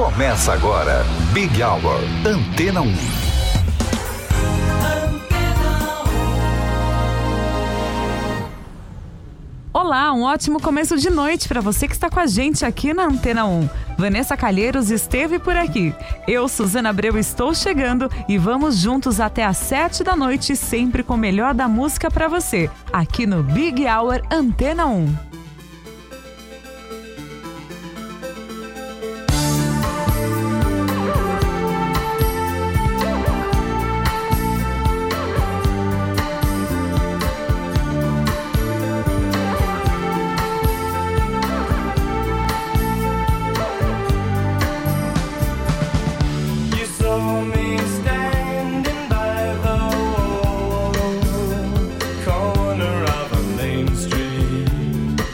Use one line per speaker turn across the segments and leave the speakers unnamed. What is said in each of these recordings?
Começa agora, Big Hour, Antena 1.
Olá, um ótimo começo de noite para você que está com a gente aqui na Antena 1. Vanessa Calheiros esteve por aqui. Eu, Suzana Abreu, estou chegando e vamos juntos até às 7 da noite, sempre com o melhor da música para você, aqui no Big Hour Antena 1.
Corner of a main street.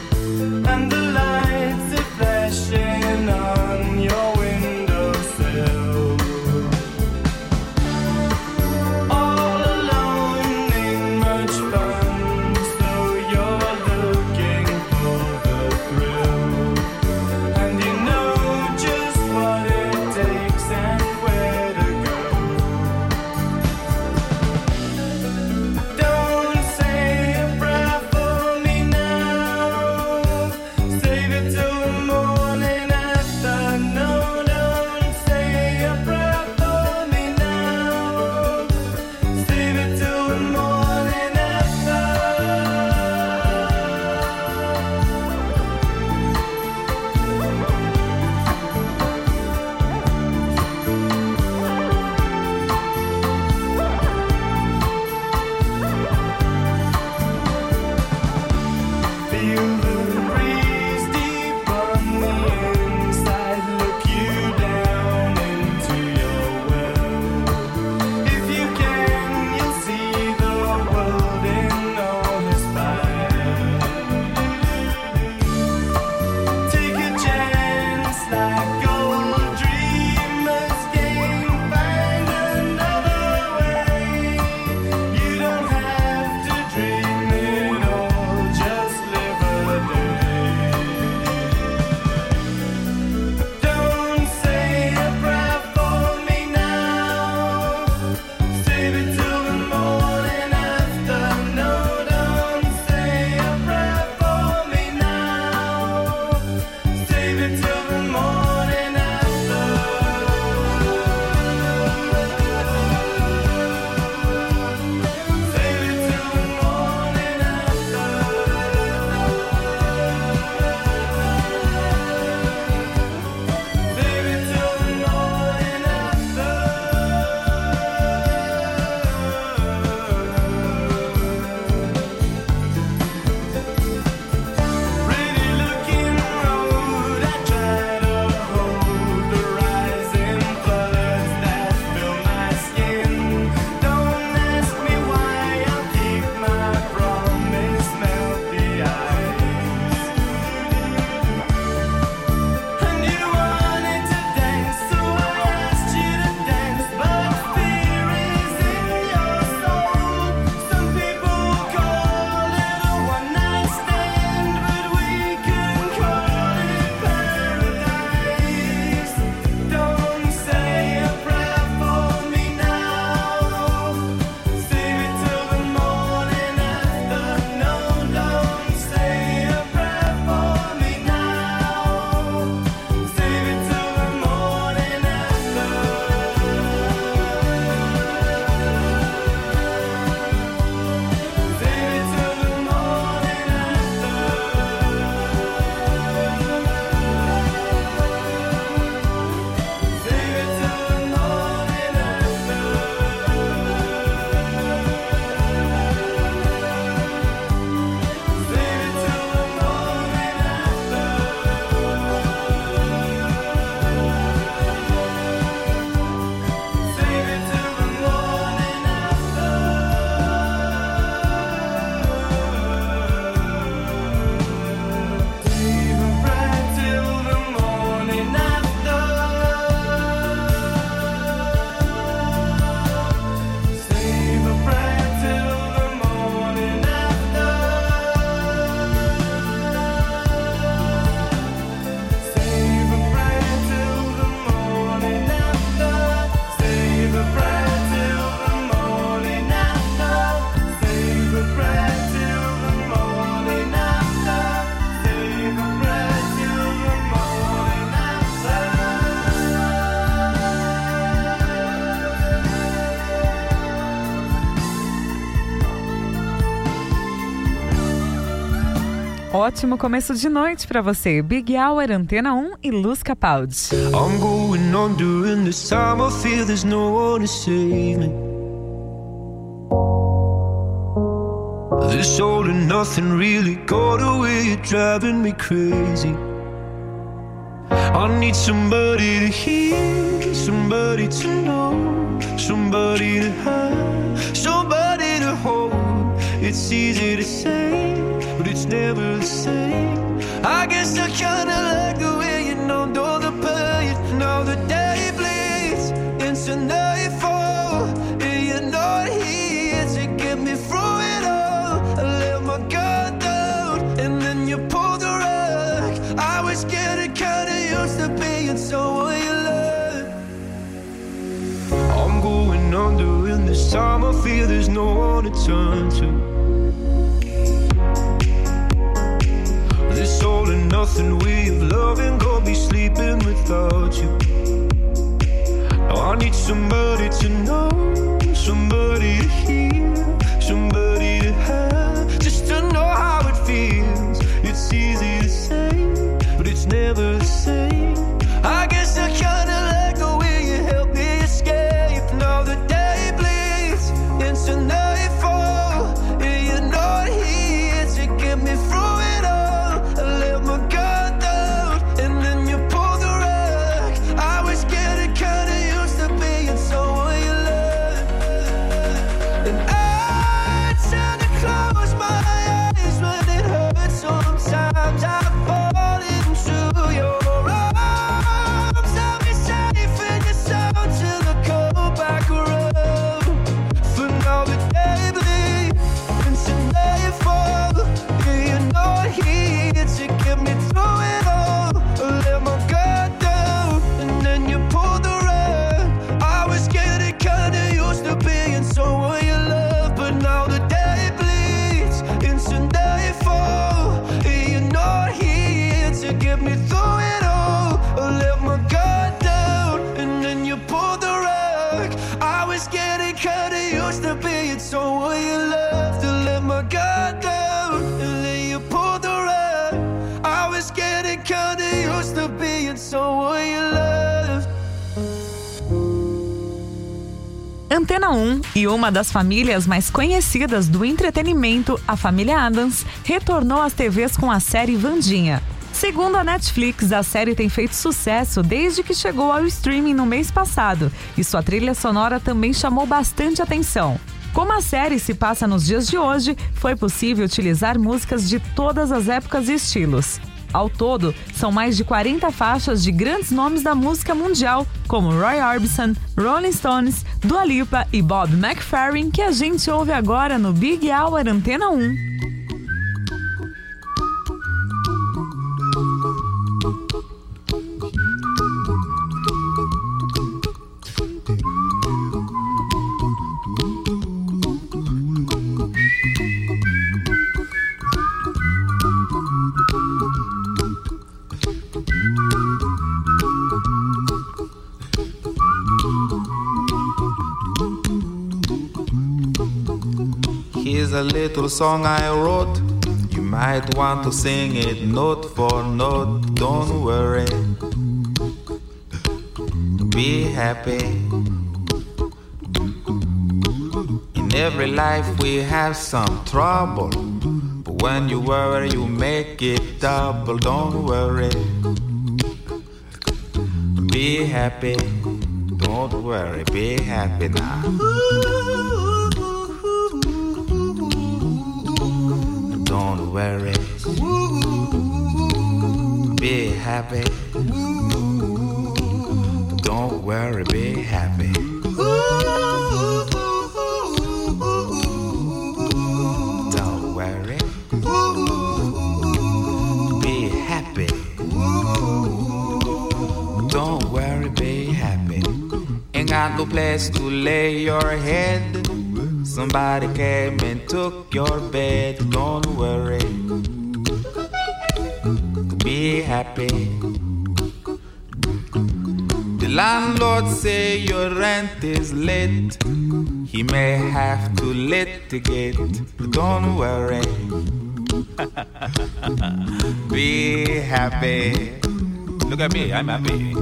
Ótimo começo de noite pra você. Big Hour, Antena 1 e Luz Capaldi.
I'm going on during this time. I feel there's no one to save me. This all and nothing really got away. You're driving me crazy. I need somebody to hear, somebody to know, somebody to have, somebody to hold. It's easy to say, but it's never the same. I guess I kinda like the way you numbed all the pain. Now the day bleeds into nightfall, and you're not here to get me through it all. I let my guard down, and then you pulled the rug. I was getting kinda used to being someone you love. I'm going under in this time. I feel there's no one to turn to. This all and nothing way of loving, gonna be sleeping without you. Now I need somebody to know, somebody to hear, somebody to have, just to know how it feels. It's easy to say, but it's never the same. I guess I kinda like the way you help me escape. Now the day bleeds into nightfall, and you're not here to get me through it all. I let my guard down, and then you pulled the rug. I was getting kinda used to being someone you love. And I tend to close my eyes when it hurts. Sometimes I fall into your arms. I'll be safe in your sound till I go back around. For now the day bleeds into nightfall, and you're not here to get me through it all. I let my guard down, and then you pulled the rug. I was getting kinda used to being someone you love, but now the day bleeds into nightfall, and you're not here to get me through it all. I let my guard down, and then you pulled the rug. I was getting kinda used to being someone you love. To let my guard down, and then you pulled the rug. I was getting kinda used to being someone you love.
Antena 1 e uma das famílias mais conhecidas do entretenimento, a família Addams, retornou às TVs com a série Wandinha. Segundo a Netflix, a série tem feito sucesso desde que chegou ao streaming no mês passado, e sua trilha sonora também chamou bastante atenção. Como a série se passa nos dias de hoje, foi possível utilizar músicas de todas as épocas e estilos. Ao todo, são mais de 40 faixas de grandes nomes da música mundial, como Roy Orbison, Rolling Stones, Dua Lipa e Bob McFerrin, que a gente ouve agora no Big Hour Antena 1.
Here's a little song I wrote. You might want to sing it note for note. Don't worry, be happy. In every life we have some trouble, but when you worry you make it double. Don't worry, be happy. Don't worry, be happy now. Don't worry, be happy. Don't worry, be happy. Don't worry, be happy. Don't worry, be happy. Ain't got no place to lay your head. Somebody came and took your bed. Don't worry, be happy. The landlord say your rent is late. He may have to litigate, but don't worry, Be happy. Look at me, I'm happy.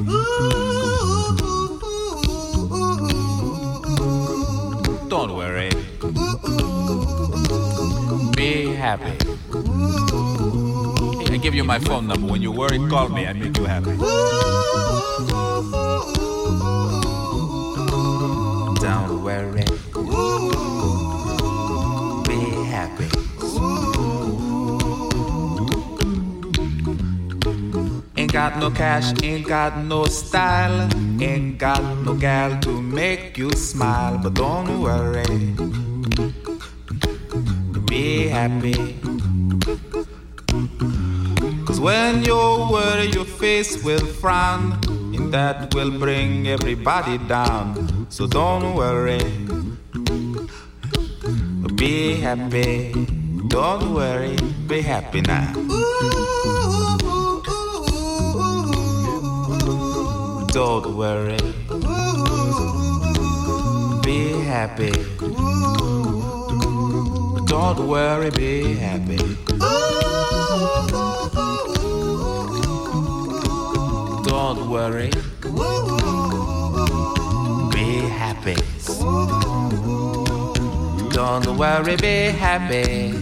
Don't worry. Be happy. I give you my phone number. When you worry, call me. I make you happy. Don't worry. Be happy. Ain't got no cash, ain't got no style, ain't got no gal to make you smile. But don't worry. Be happy. Cause when you worry, your face will frown, and that will bring everybody down. So don't worry. Be happy. Don't worry. Be happy now. Don't worry. Be happy. Don't worry, be happy. Don't worry. Be happy. Don't worry, be happy.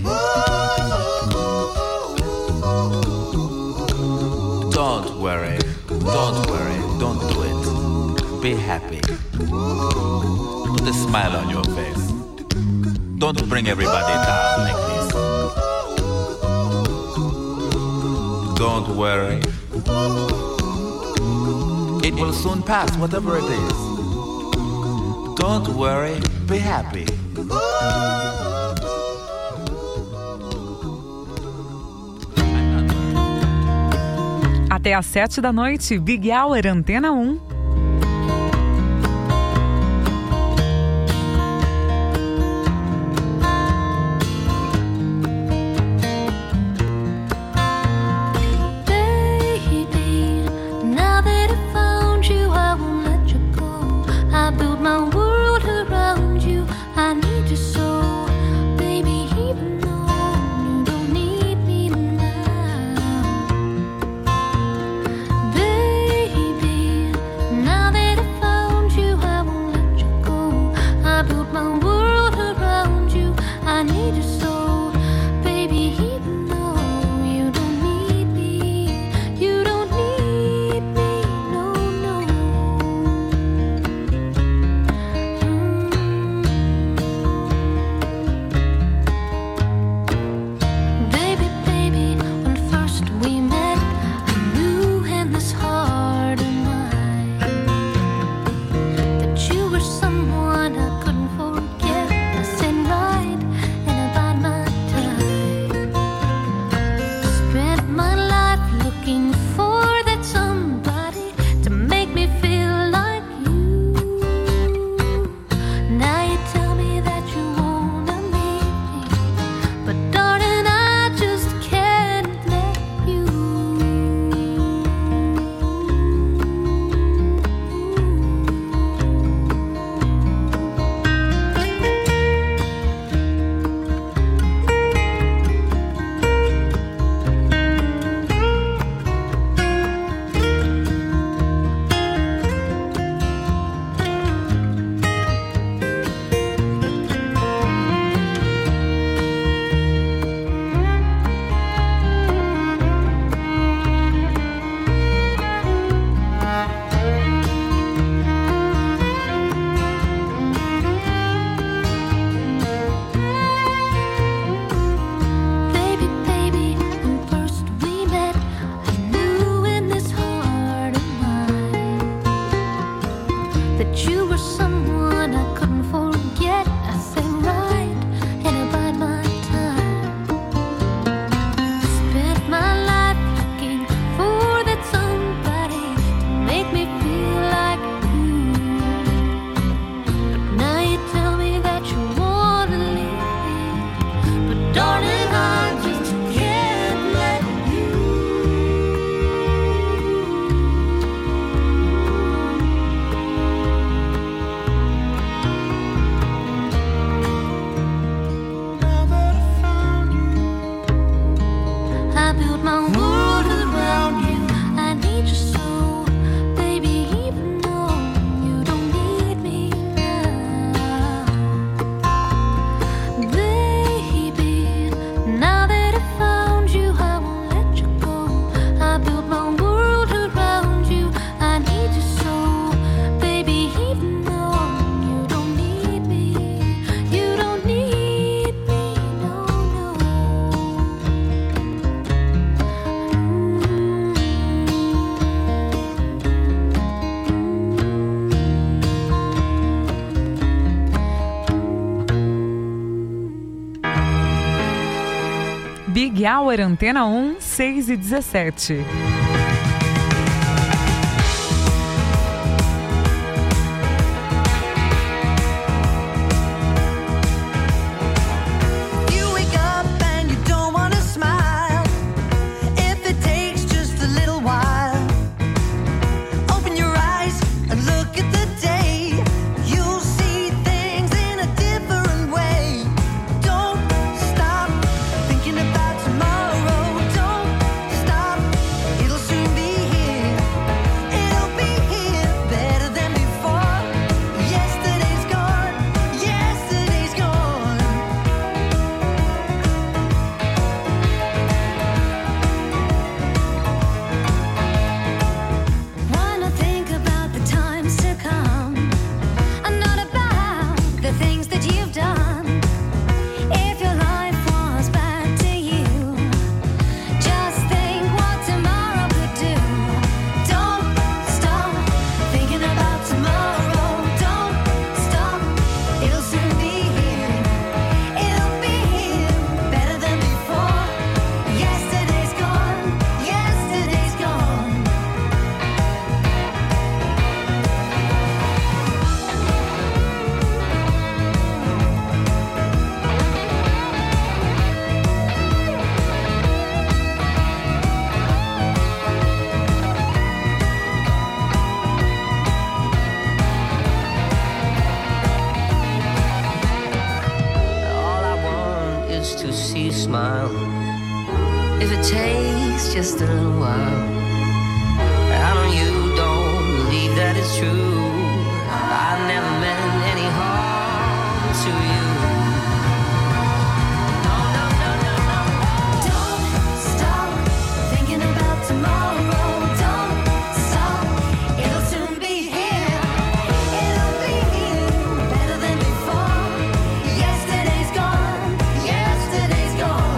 Don't worry. Don't worry. Don't do it. Be happy. Put a smile on your face. Don't bring everybody down like this. Don't worry. It will soon pass, whatever it is. Don't worry, be happy.
Até às 7 da noite, Big Hour Antena 1. Big Hour, Antena 1, 6h17.
Smile. If it takes just a little while, I know you don't believe that it's true. I never meant any harm to you. No, no, no, no, no. Don't stop thinking about tomorrow. Don't stop. It'll soon be here. It'll be here better than before. Yesterday's gone. Yesterday's gone.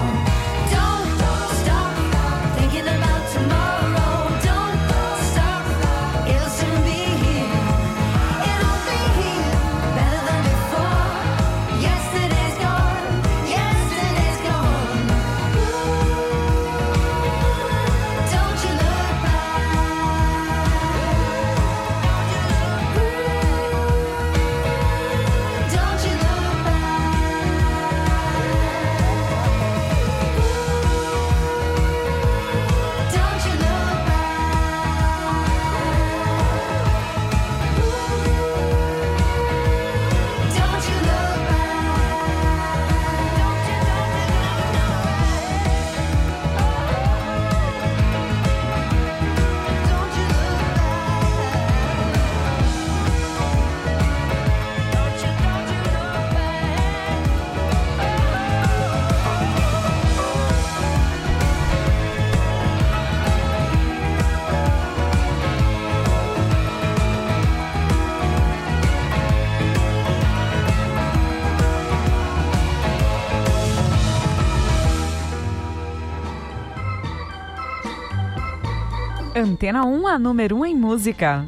Antena 1, a número 1 em música.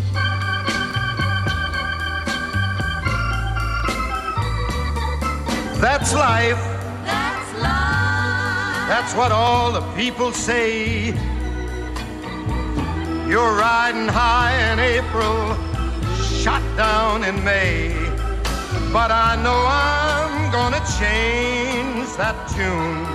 That's life. That's life. That's what all the people say. You're riding high in April, shot down in May. But I know I'm gonna change that tune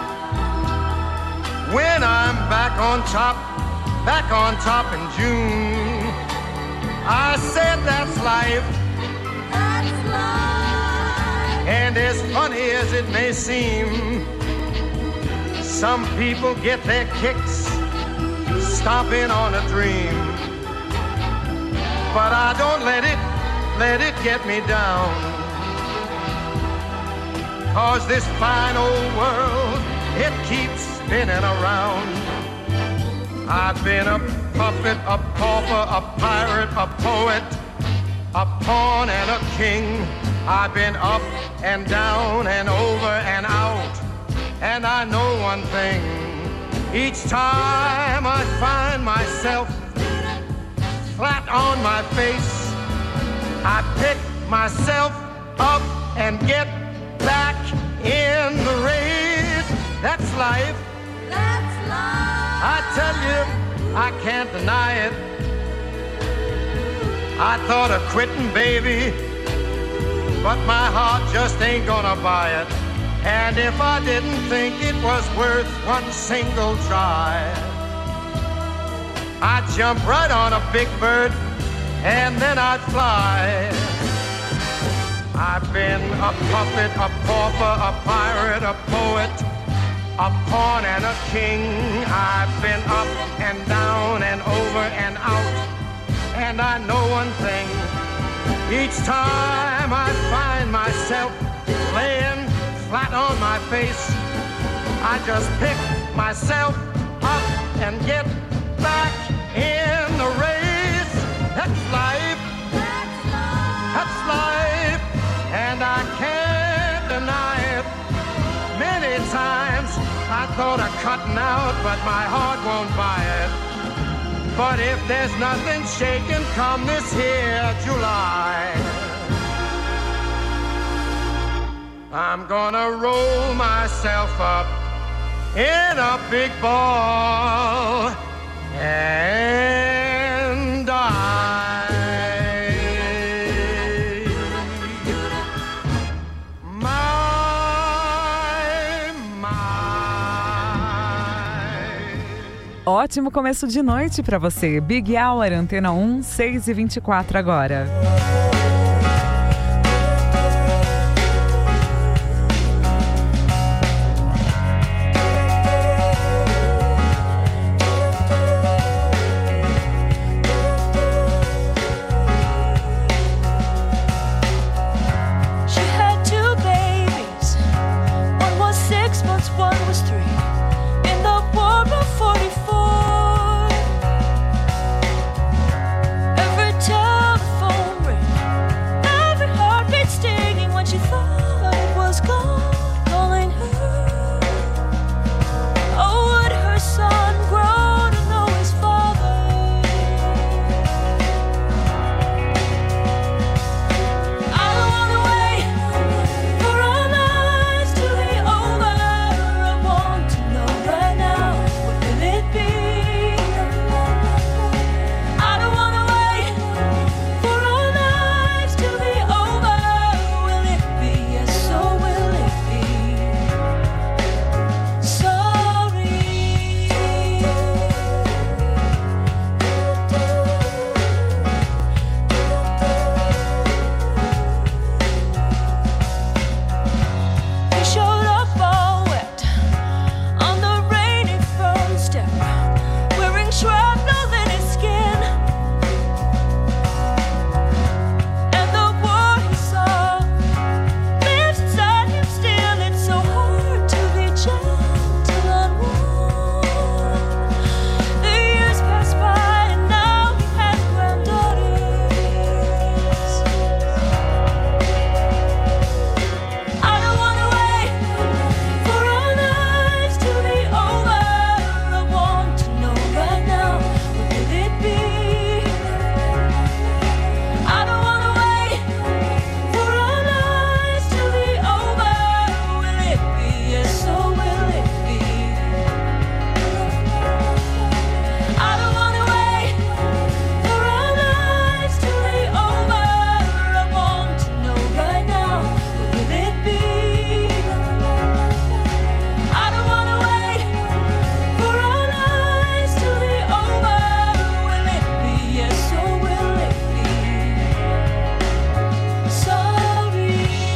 when I'm back on top in June. I said that's life. That's life. And as funny as it may seem, some people get their kicks stomping on a dream. But I don't let it get me down. 'Cause this fine old world, it keeps spinning around. I've been a puppet, a pauper, a pirate, a poet, a pawn and a king. I've been up and down and over and out. And I know one thing, each time I find myself flat on my face, I pick myself up and get back in the race.
That's life.
That's life.
I tell you, I can't deny it. I thought of quitting, baby, but my heart just ain't gonna buy it. And if I didn't think it was worth one single try, I'd jump right on a big bird and then I'd fly. I've been a puppet, a pauper, a pirate, a poet, a pawn and a king. I've been up and down and over and out. And I know one thing, each time I find myself laying flat on my face, I just pick myself up and get back in the race. That's life. That's life. And I can't deny it. Many times I thought of cutting out, but my heart won't buy it. But if there's nothing shaking come this here July, I'm gonna roll myself up in a big ball and die.
Ótimo começo de noite para você. Big Hour, Antena 1, 6h24 agora.
She had 2 babies. One was 6 months, one was 3. In the war of 44, every telephone ring, every heartbeat stinging when she thought it was God calling her. Oh, would her son grow to know his father? I don't wanna wait for our lives to be over. I want to know right now, what will it be? I don't wanna wait for our lives to be over. Will it be? Yes, or will it be? Sorry. He showed up all wet on the rainy front step, wearing shrapnel in his skin. And the war he saw lives inside him still. It's so hard to be gentle and warm. The years pass by and now he has granddaughters. I don't wanna wait for our lives to be over. I want to know right now, what will it be? I don't wanna wait for our lives to be over. Will it be? Yes, or will it be? I don't wanna wait for our lives to be over. I want to know right now, what will it be? I don't wanna wait for our lives to be over. Will it be? Yes, or will it be? Sorry.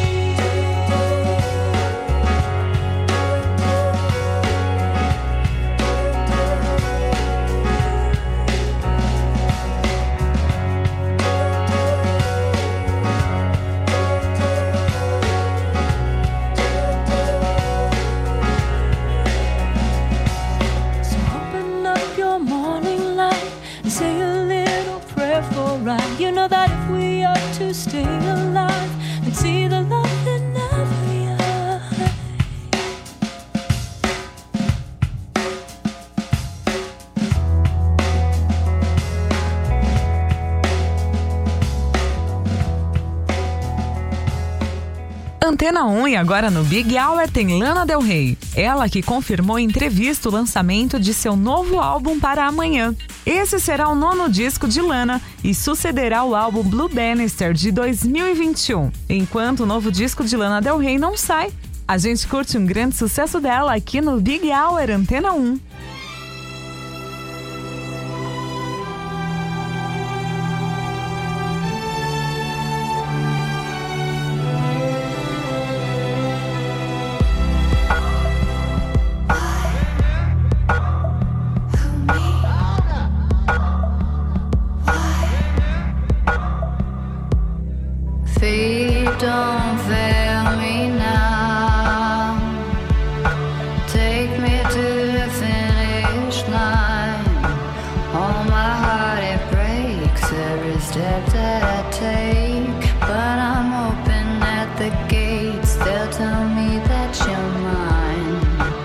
So open up your morning light and say a little prayer for right. You know that if we are to stay alive and see the love in every eye.
Antena 1 e agora no Big Hour tem Lana Del Rey. Ela que confirmou em entrevista o lançamento de seu novo álbum para amanhã. Esse será o 9º disco de Lana e sucederá o álbum Blue Bannister de 2021. Enquanto o novo disco de Lana Del Rey não sai, a gente curte um grande sucesso dela aqui no Big Hour Antena 1.
Feet don't fail me now. Take me to the finish line. Oh, my heart, it breaks every step that I take. But I'm open at the gates. They'll tell me that you're mine.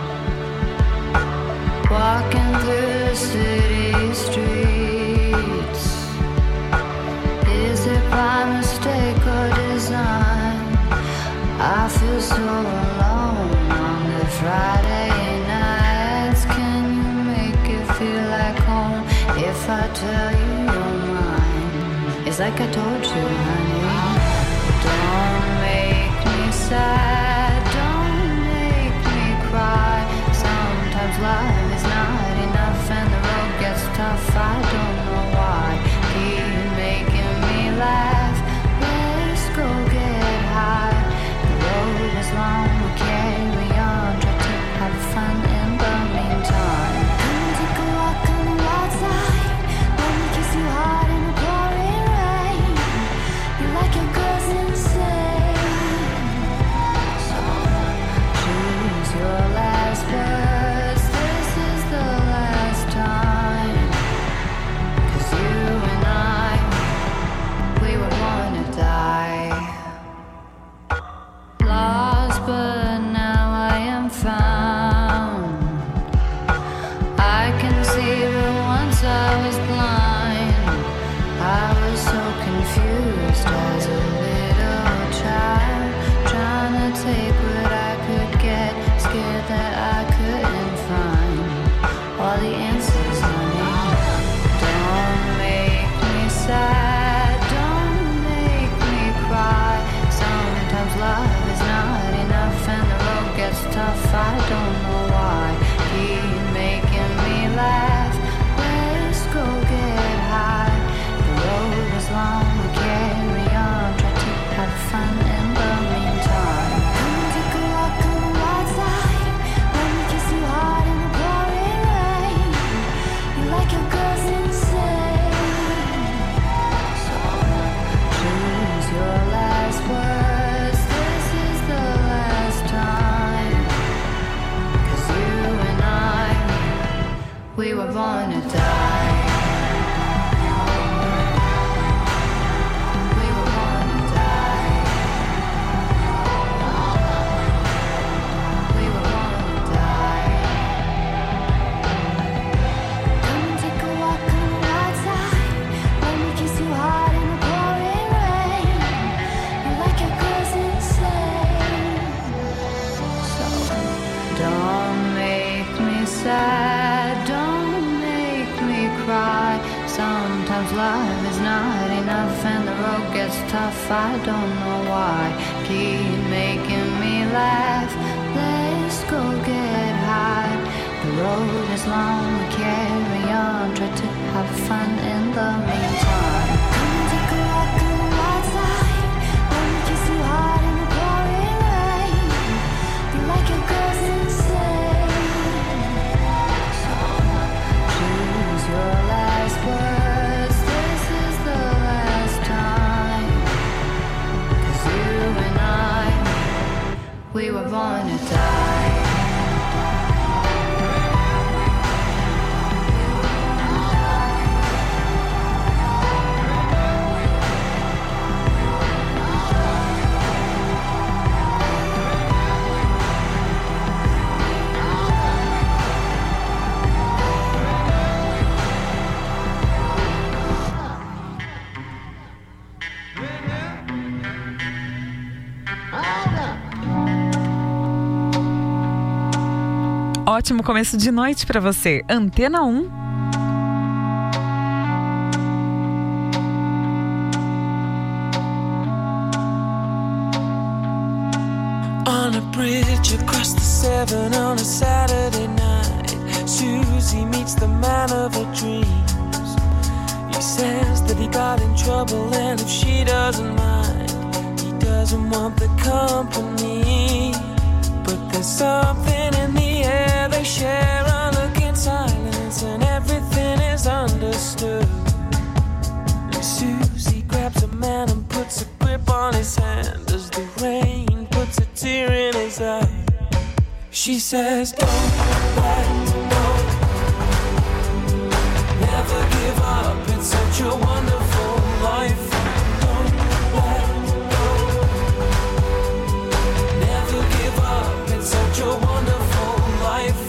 Walking through the city streets. Is it by mistake or design? I feel so alone on the Friday nights. Can you make it feel like home if I tell you you're mine? It's like I told you, honey. Don't make me sad, don't make me cry. Sometimes life is not enough and the road gets tough. I don't know why. Keep making me laugh. Let's go get high. The road is long, we'll carry on. Try to have fun in the meantime. Come take a walk on the wild side. Let me kiss you hard in the pouring rain. You like your girls insane. So choose your last words. This is the last time. 'Cause you and I, we were born to die. Lost, but now I am found. I can see, but once I was blind. I was so confused as a little child, trying to take what I could get, scared that I couldn't find all the answers, honey. Don't make me sad, don't make me cry. Sometimes love is not enough and the road gets tough. I don't know why. Keep making me laugh. Let's go get high. The road is long, we'll carry on. Try to have fun in the meantime. Come take a walk on the wild side. Let me kiss you hard in the pouring rain. You like your girls insane. So choose your last words. This is the last time. 'Cause you and I, we were born to die. We were born to die. We were born to die. Come and take a walk on the wild side. Let me kiss you hard in the pouring rain. You like your girls insane. So don't make me sad, don't make me cry. Sometimes life is not enough and the road gets tough. I don't know why. Keep making me laugh. Let's go get high. The road is long, we carry on. Try to have fun in the meantime. Come take a walk on the wild side. Let me kiss you hard in the pouring rain. You like your girls insane. So choose your last words. This is the last time. 'Cause you and I, we were born to die. We were born to die.
Ótimo começo de noite pra você. Antena 1.
On a bridge across the Severn on a Saturday night, Susie meets the man of her dreams. He says that he got in trouble and if she doesn't mind, he doesn't want the company. But there's something in the air, they share a look in silence and everything is understood. And Susie grabs a man and puts a grip on his hand as the rain puts a tear in his eye. She says, don't let go, never give up, it's such a wonderful life. Don't let go, never give up, it's such a wonderful life.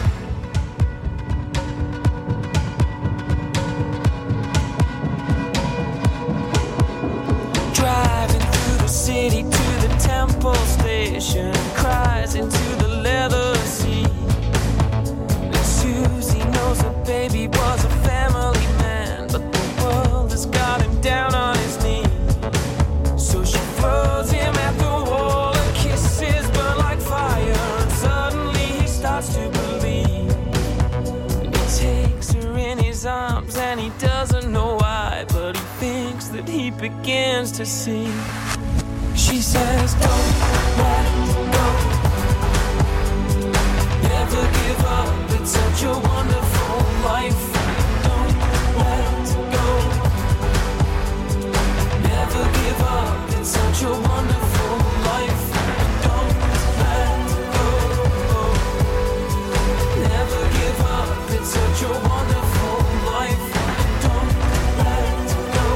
Driving through the city to the Temple Station, cries into the leather seat. And Susie knows her baby was a family man, but the world has got him down on his knees. So she throws him at the wall and kisses burn like fire, and suddenly he starts to believe. And he takes her in his arms and he doesn't know why, but he thinks that he begins to see. She says, don't let go, never give up, it's such a wonderful life. Don't let go, never give up, it's such a wonderful life. Don't let go, never give up, it's such a wonderful life. Don't let go,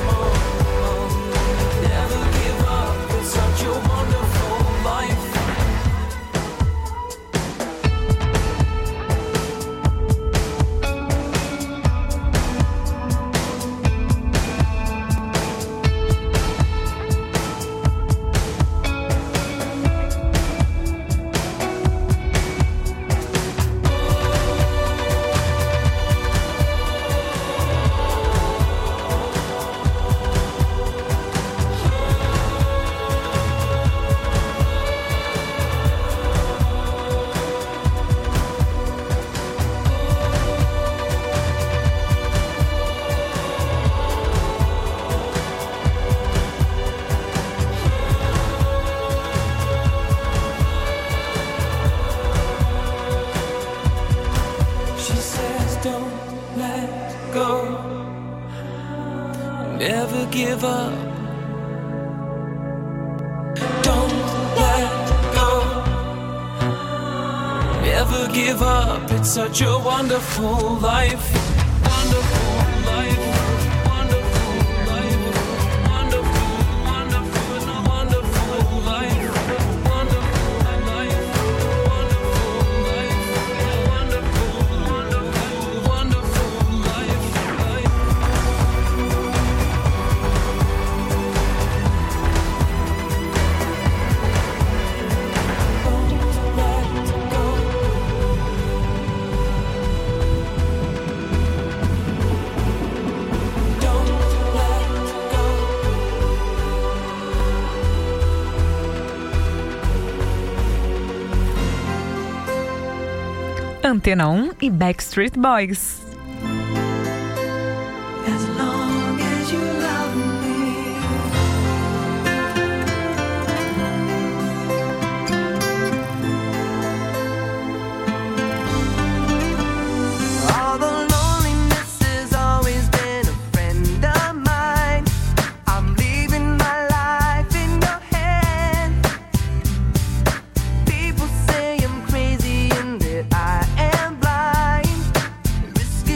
never give up, it's such a wonderful life. She says, don't let go, never give up. Don't let go, never give up. It's such a wonderful life. Wonderful life. Wonderful life. Wonderful, wonderful, wonderful life. Wonderful life. Wonderful life. Wonderful, wonderful, wonderful life.
Antena 1 e Backstreet Boys.
As long as you love me.
All the loneliness has always been a friend of mine. I'm leaving my life in your hands. People say I'm crazy and that I am blind.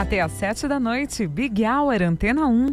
Até às 7 da noite, Big Hour, Antena 1.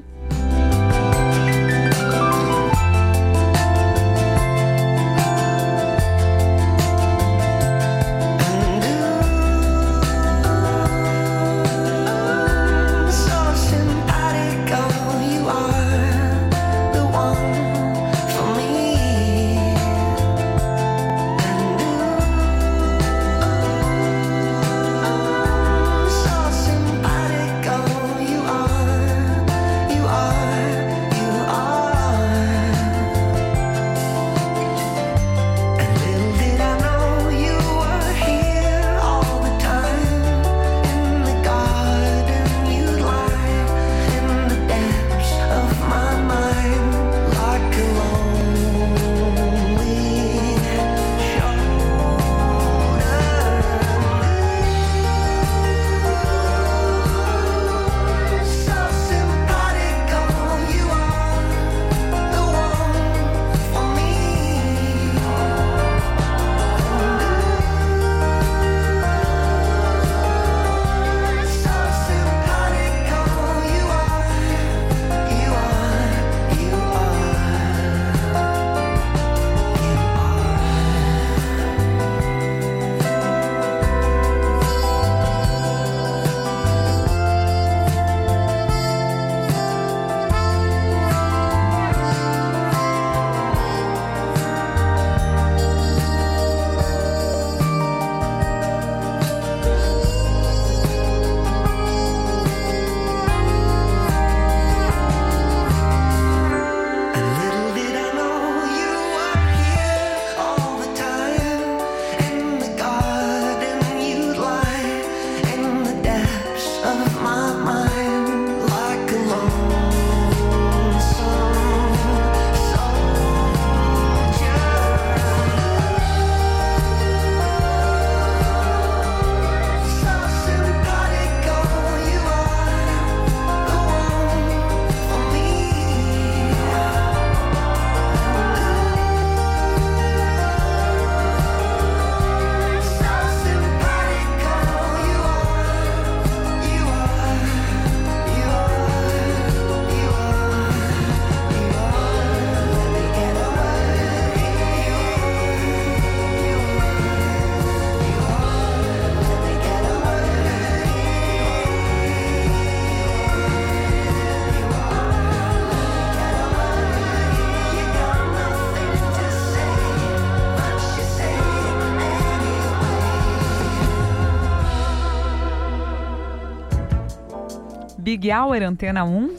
Big Hour, Antena 1,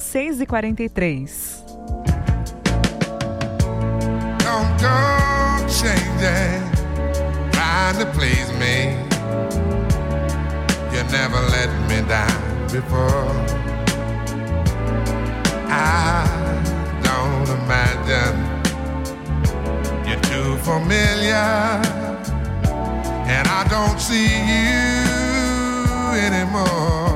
6h43.
Don't go changing, trying to please me. You never let me down before. I don't imagine you're too familiar, and I don't see you anymore.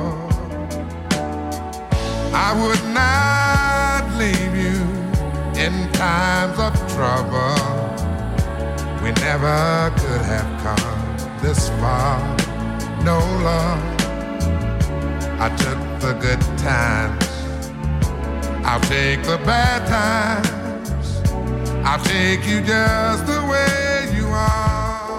I would not leave you in times of trouble. We never could have come this far. No, love, I took the good times, I'll take the bad times, I'll take you just the way you are.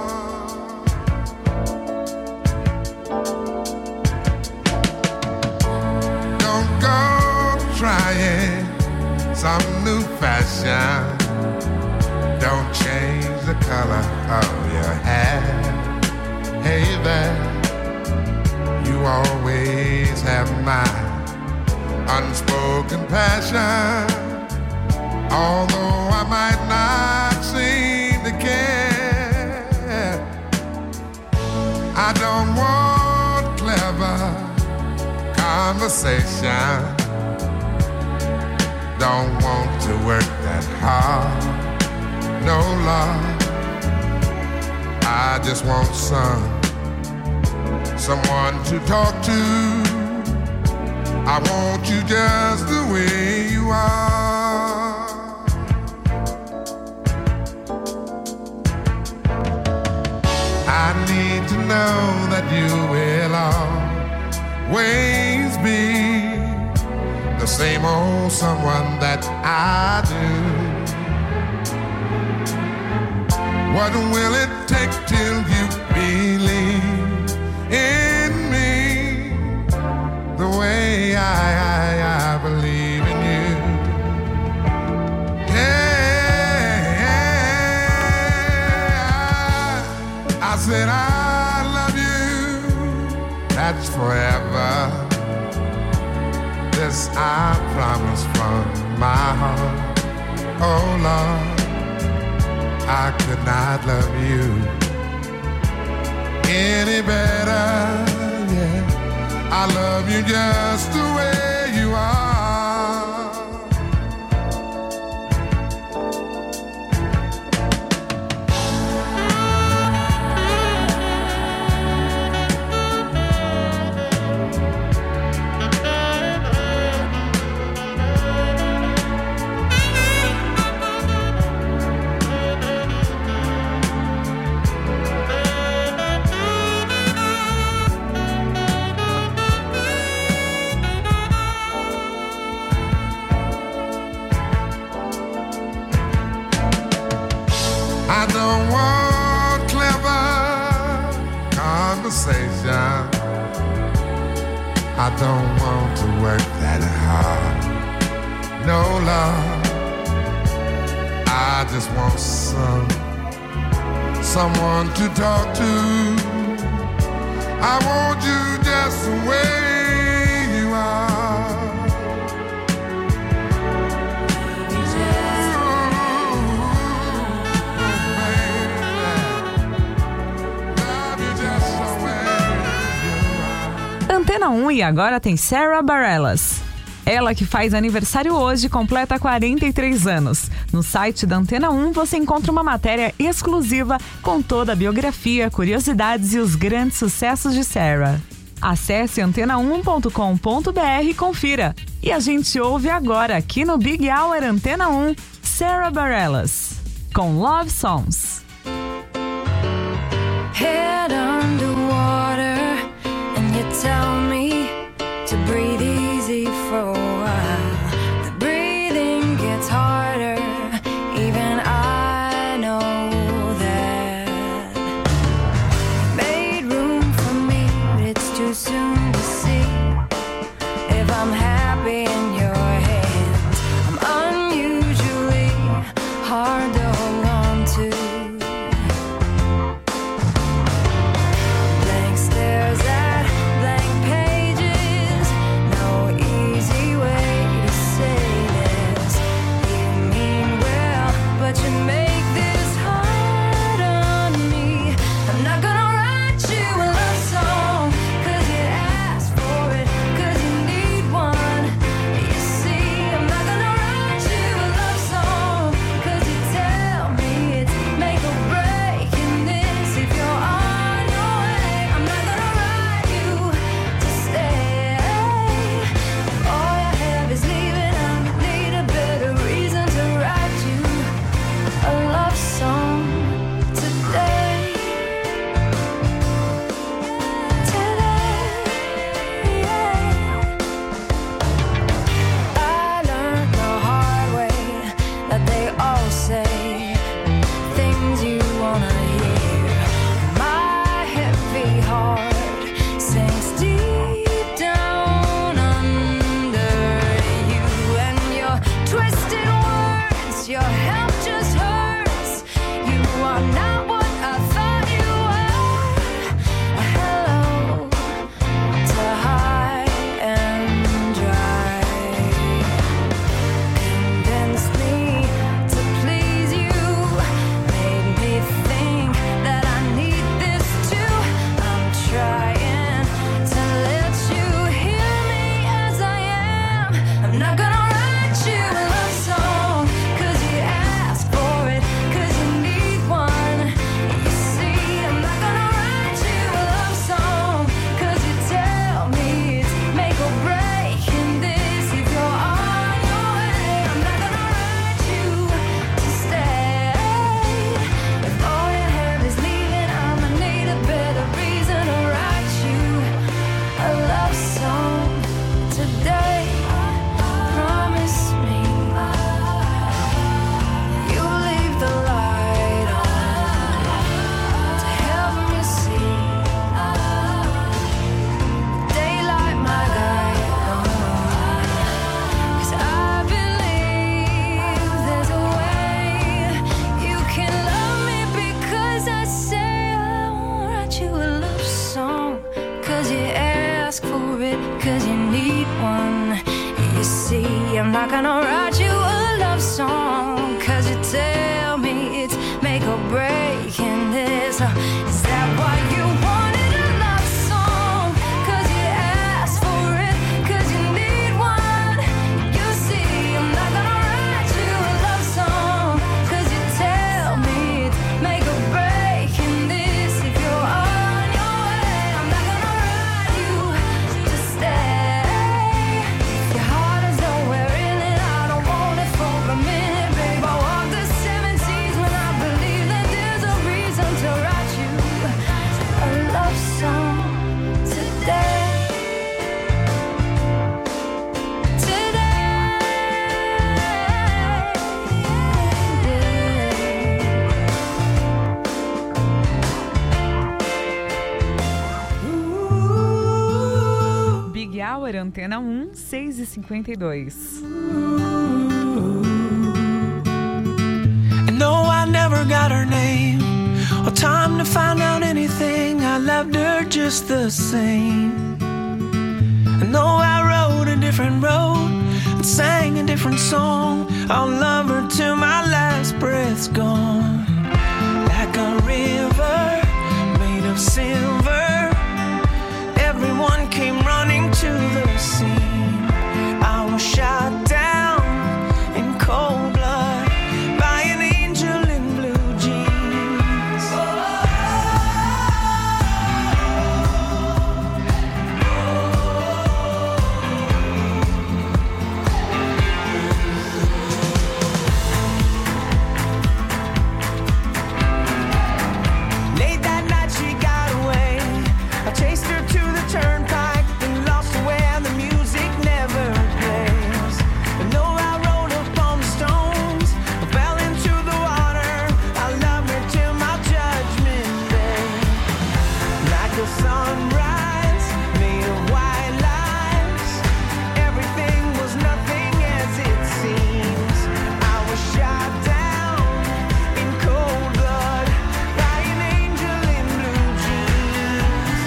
Trying some new fashion. Don't change the color of your hair. Hey there, you always have my unspoken passion. Although I might not seem to care, I don't want clever conversation. Don't want to work that hard, no love. I just want someone to talk to. I want you just the way you are. I need to know that you will always same old someone that I do. What will it take till you believe in me the way I believe in you? Yeah, I said I love you, that's forever. This I promise from my heart. Oh Lord, I could not love you any better. Yeah, I love you just the way you are. I don't want clever conversation. I don't want to work that hard. No love. I just want someone to talk to. I want you just the way you are.
Antena 1 e agora tem Sara Bareilles. Ela que faz aniversário hoje completa 43 anos. No site da Antena 1 você encontra uma matéria exclusiva com toda a biografia, curiosidades e os grandes sucessos de Sara. Acesse antena1.com.br e confira. E a gente ouve agora aqui no Big Hour Antena 1, Sara Bareilles, com Love Songs.
Head underwater, and you tell me to breathe easy for a while. The breathing gets harder, even I know that. Made room for me, but it's too soon to see if I'm happy in your hands. I'm unusually hard to hold on to. 'cause you need one. You see, I'm not gonna write you a love song, 'cause you tell me it's make or break in this. Is that why you wanted a love song? 'Cause you asked for it, 'cause you need one. You see, I'm not gonna write you a love song, 'cause you tell me it's make or break in this. If you're on your way, I'm not gonna write you to stay. Your heart is nowhere in it, I don't want it for a minute, babe. I walk the 7 seas when I believe that there's a reason to write you a love song today.
Big Hour, Antena 1, 6h52.
And no, I never got her name or time to find out anything. I loved her just the same. And no, I rode a different road and sang a different song. I'll love her till my last breath's gone. Like a river made of silver, everyone came running to the scene. I was shot down in cold blood by an angel in blue jeans. Late that night she got away. I chased her to the turnpike and lost her where the music never plays. And though I rode upon the stones, I fell into the water. I love her till my judgment day. Like a sunrise made of white lines, everything was nothing as it seems. I was shot down in cold blood by an angel in blue jeans.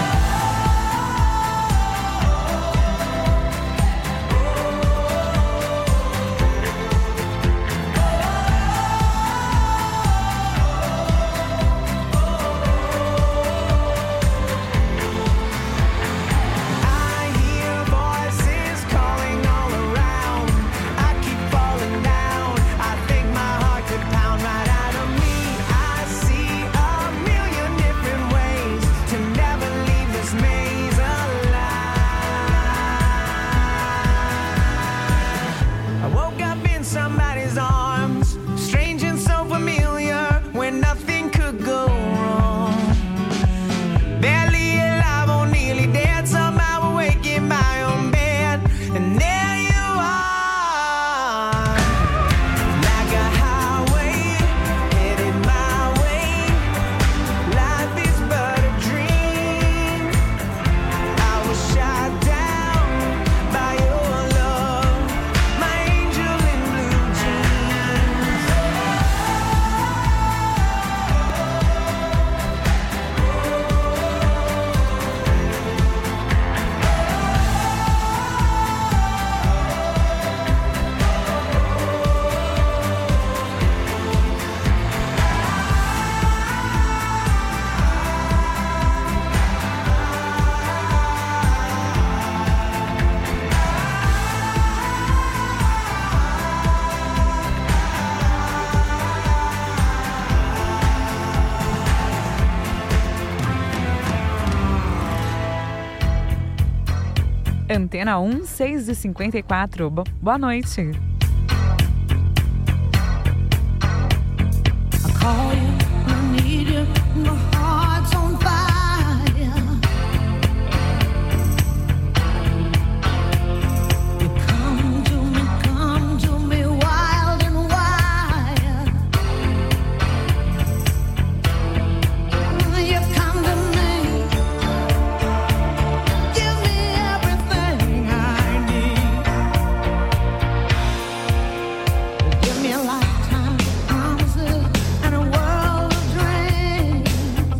I hear voices calling all around. I keep falling down. I think my heart could pound right out of me. I see a million different ways to never leave this maze alive. I woke up in somebody's arms, strange and so familiar, where nothing could go wrong. Barely alive or nearly dead, somehow awake in my own bed. And there you are, like a highway, headed my way. Life is but a dream. I was shot down by your love, my angel in blue jeans.
Antena 1, 6h54. Boa noite.
I call you, I need you, my heart's on fire. You come to me wild and wild. You come to me, give me everything I need. Give me a lifetime of promises and a world of dreams.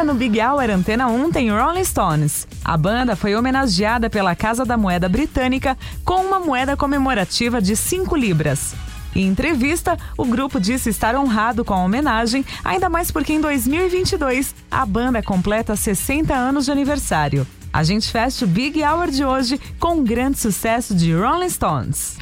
no Big Hour Antena 1 tem Rolling Stones. A banda foi homenageada pela Casa da Moeda Britânica com uma moeda comemorativa de 5 libras. Em entrevista, o grupo disse estar honrado com a homenagem, ainda mais porque em 2022 a banda completa 60 anos de aniversário. A gente fecha o Big Hour de hoje com um grande sucesso de Rolling Stones.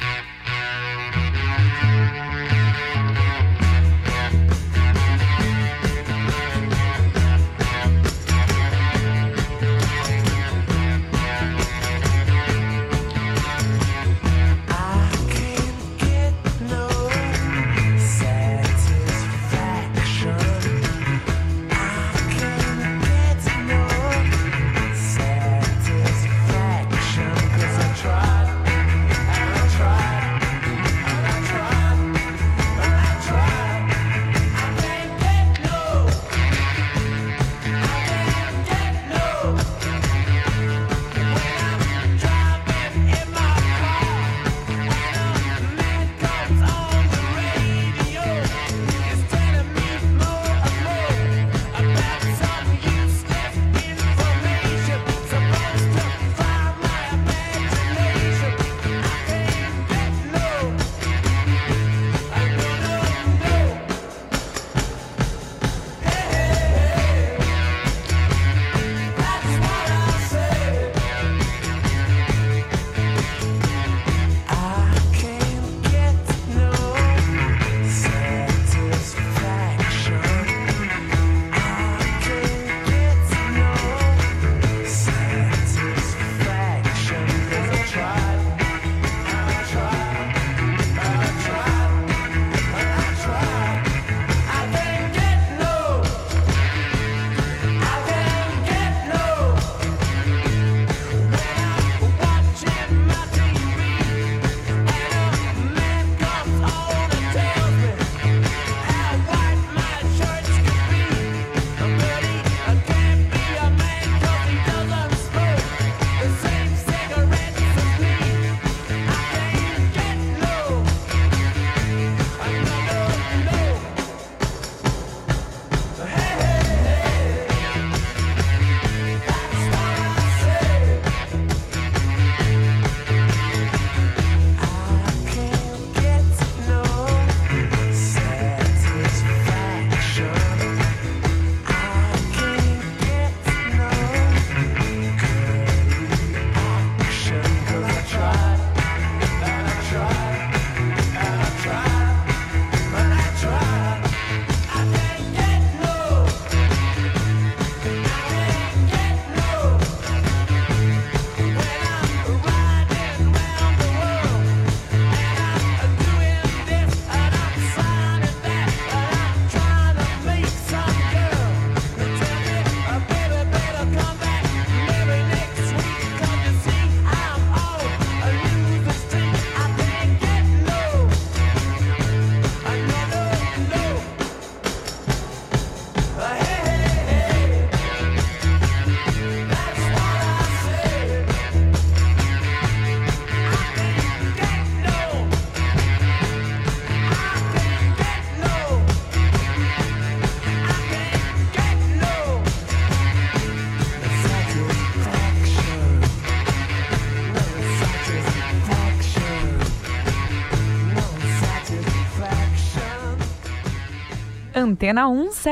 Antena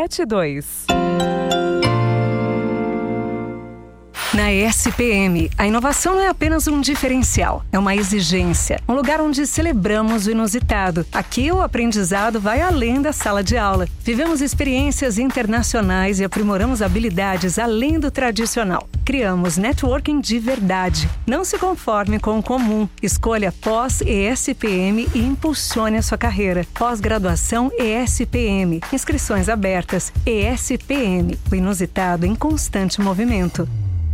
172.
Na SPM, a inovação não é apenas um diferencial, é uma exigência. Um lugar onde celebramos o inusitado. Aqui o aprendizado vai além da sala de aula. Vivemos experiências internacionais e aprimoramos habilidades além do tradicional. Criamos networking de verdade. Não se conforme com o comum. Escolha pós-ESPM e impulsione a sua carreira. Pós-graduação ESPM. Inscrições abertas. ESPM. O inusitado em constante movimento.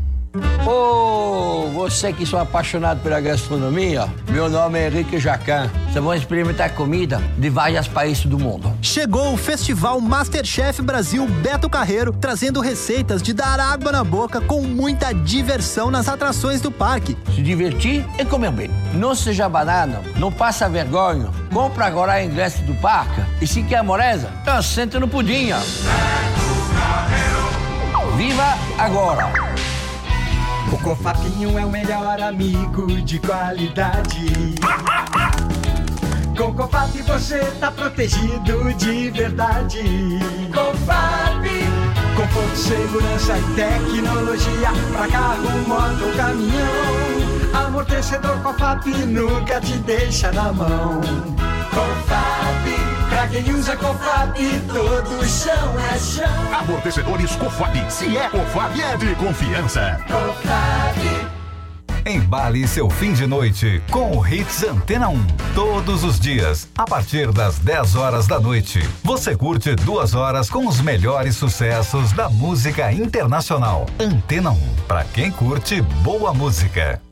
Ô, você que sou apaixonado pela gastronomia, meu nome é Henrique Jacan. Vocês vão experimentar comida de vários países do mundo.
Chegou o Festival Masterchef Brasil Beto Carreiro, trazendo receitas de dar água na boca com muita diversão nas atrações do parque.
Se divertir e comer bem. Não seja banana, não passa vergonha. Compra agora o ingresso do parque e se quer moleza, então senta no pudim. Viva agora!
O Cofapinho é o melhor amigo de qualidade. Com Cofap você tá protegido de verdade. Cofap, conforto, segurança e tecnologia pra carro, moto ou caminhão. Amortecedor Cofap nunca te deixa na mão. Cofap, pra quem usa Cofap, todo chão é chão.
Amortecedores Cofap. Se é Cofap, é de confiança.
Cofap.
Embale seu fim de noite com o Hits Antena 1. Todos os dias, a partir das 10 horas da noite, você curte 2 horas com os melhores sucessos da música internacional. Antena 1, pra quem curte boa música.